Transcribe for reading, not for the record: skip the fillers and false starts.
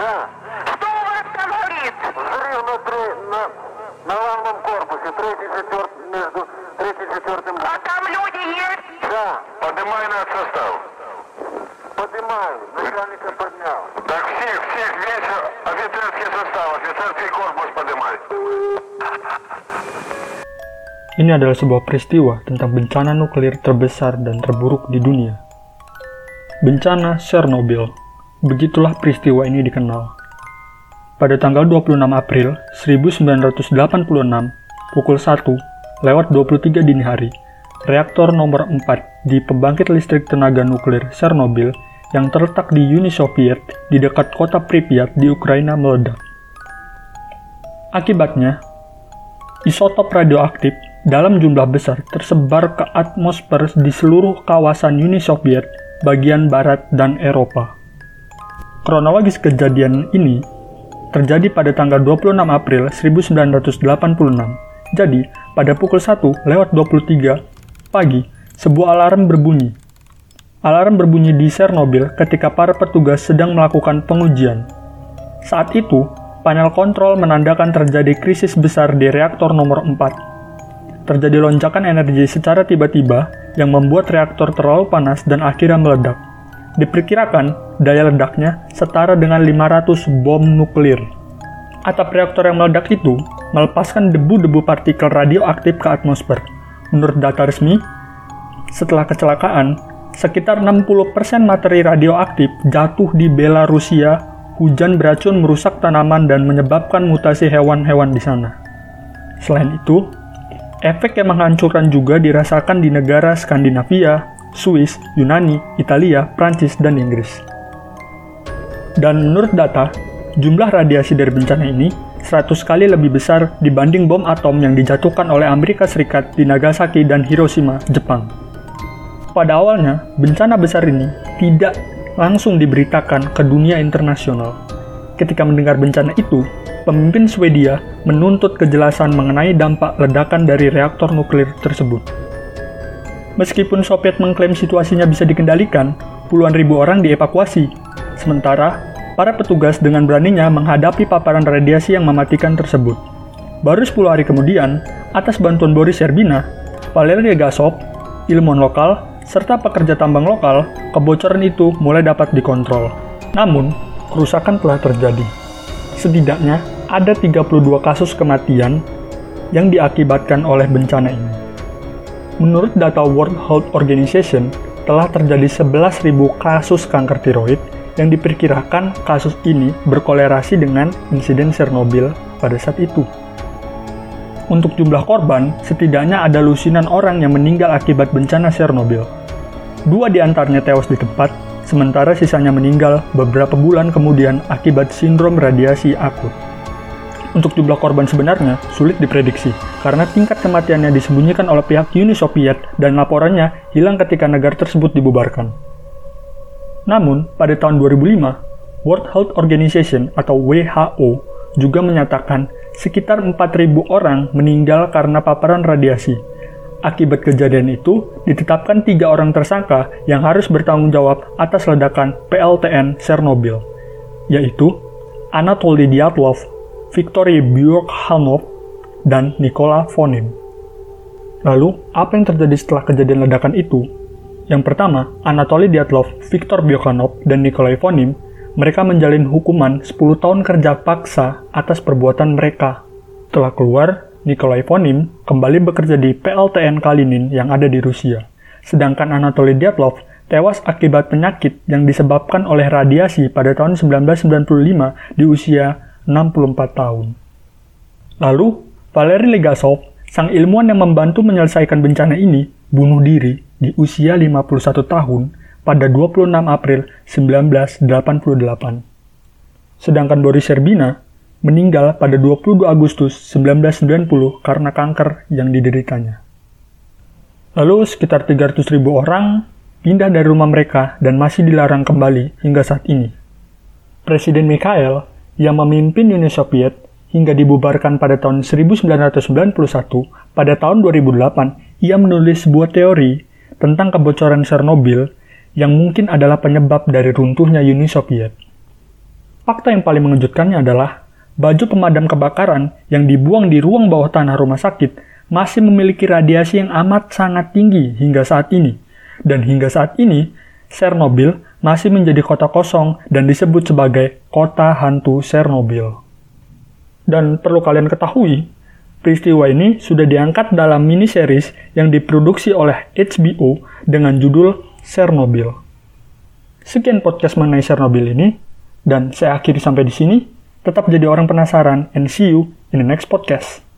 Да. Что у вас там горит? Взрыв на лавном корпусе, между третьим и четвертым. А там люди есть? Да, Поднимай наш состав. поднимаю, начальника поднял. Так всех весь офицерский состав, офицерский корпус поднимай. Ini adalah sebuah peristiwa tentang bencana nuklir terbesar dan terburuk di dunia. Bencana Chernobyl. Begitulah peristiwa ini dikenal. Pada tanggal 26 April 1986, pukul 1:23 dini hari, reaktor nomor 4 di pembangkit listrik tenaga nuklir Chernobyl yang terletak di Uni Soviet di dekat kota Pripyat di Ukraina meledak. Akibatnya, isotop radioaktif dalam jumlah besar tersebar ke atmosfer di seluruh kawasan Uni Soviet, bagian barat, dan Eropa. Kronologis kejadian ini terjadi pada tanggal 26 April 1986. Jadi, pada pukul 1:23 pagi, sebuah alarm berbunyi. Alarm berbunyi di Chernobyl ketika para petugas sedang melakukan pengujian. Saat itu, panel kontrol menandakan terjadi krisis besar di reaktor nomor 4. Terjadi lonjakan energi secara tiba-tiba yang membuat reaktor terlalu panas dan akhirnya meledak. Diperkirakan daya ledaknya setara dengan 500 bom nuklir. Atap reaktor yang meledak itu melepaskan debu-debu partikel radioaktif ke atmosfer. Menurut data resmi, setelah kecelakaan, sekitar 60% materi radioaktif jatuh di Belarusia. Hujan beracun merusak tanaman dan menyebabkan mutasi hewan-hewan di sana. Selain itu, efek yang menghancurkan juga dirasakan di negara Skandinavia, Swiss, Yunani, Italia, Prancis, dan Inggris. Dan menurut data, jumlah radiasi dari bencana ini 100 kali lebih besar dibanding bom atom yang dijatuhkan oleh Amerika Serikat di Nagasaki dan Hiroshima, Jepang. Pada awalnya, bencana besar ini tidak langsung diberitakan ke dunia internasional. Ketika mendengar bencana itu, pemimpin Swedia menuntut kejelasan mengenai dampak ledakan dari reaktor nuklir tersebut. Meskipun Soviet mengklaim situasinya bisa dikendalikan, puluhan ribu orang dievakuasi. Sementara, para petugas dengan beraninya menghadapi paparan radiasi yang mematikan tersebut. Baru 10 hari kemudian, atas bantuan Boris Yerbina, Valery Legasov, ilmuwan lokal, serta pekerja tambang lokal, kebocoran itu mulai dapat dikontrol. Namun, kerusakan telah terjadi. Setidaknya, ada 32 kasus kematian yang diakibatkan oleh bencana ini. Menurut data World Health Organization, telah terjadi 11.000 kasus kanker tiroid yang diperkirakan kasus ini berkolerasi dengan insiden Chernobyl pada saat itu. Untuk jumlah korban, setidaknya ada lusinan orang yang meninggal akibat bencana Chernobyl. 2 di antaranya tewas di tempat, sementara sisanya meninggal beberapa bulan kemudian akibat sindrom radiasi akut. Untuk jumlah korban sebenarnya sulit diprediksi, karena tingkat kematiannya disembunyikan oleh pihak Uni Soviet dan laporannya hilang ketika negara tersebut dibubarkan. Namun, pada tahun 2005, World Health Organization atau WHO juga menyatakan sekitar 4.000 orang meninggal karena paparan radiasi. Akibat kejadian itu, ditetapkan 3 orang tersangka yang harus bertanggung jawab atas ledakan PLTN Chernobyl, yaitu Anatoly Dyatlov, Viktory Byorkhanov, dan Nikola Fonin. Lalu, apa yang terjadi setelah kejadian ledakan itu? Yang pertama, Anatoly Dyatlov, Viktor Byorkhanov, dan Nikolai Fonin, mereka menjalin hukuman 10 tahun kerja paksa atas perbuatan mereka. Setelah keluar, Nikolai Fonin kembali bekerja di PLTN Kalinin yang ada di Rusia. Sedangkan Anatoly Dyatlov tewas akibat penyakit yang disebabkan oleh radiasi pada tahun 1995 di usia 64 tahun. Lalu, Valery Legasov, sang ilmuwan yang membantu menyelesaikan bencana ini, bunuh diri di usia 51 tahun pada 26 April 1988. Sedangkan Boris Yerbina meninggal pada 22 Agustus 1990 karena kanker yang dideritanya. Lalu, sekitar 300.000 orang pindah dari rumah mereka dan masih dilarang kembali hingga saat ini. Presiden Mikhail yang memimpin Uni Soviet hingga dibubarkan pada tahun 1991, pada tahun 2008, ia menulis sebuah teori tentang kebocoran Chernobyl yang mungkin adalah penyebab dari runtuhnya Uni Soviet. Fakta yang paling mengejutkannya adalah baju pemadam kebakaran yang dibuang di ruang bawah tanah rumah sakit masih memiliki radiasi yang amat sangat tinggi hingga saat ini. Dan hingga saat ini, Chernobyl masih menjadi kota kosong dan disebut sebagai kota hantu Chernobyl. Dan perlu kalian ketahui, peristiwa ini sudah diangkat dalam miniseries yang diproduksi oleh HBO dengan judul Chernobyl. Sekian podcast mengenai Chernobyl ini, dan saya akhiri sampai di sini. Tetap jadi orang penasaran, and see you in the next podcast.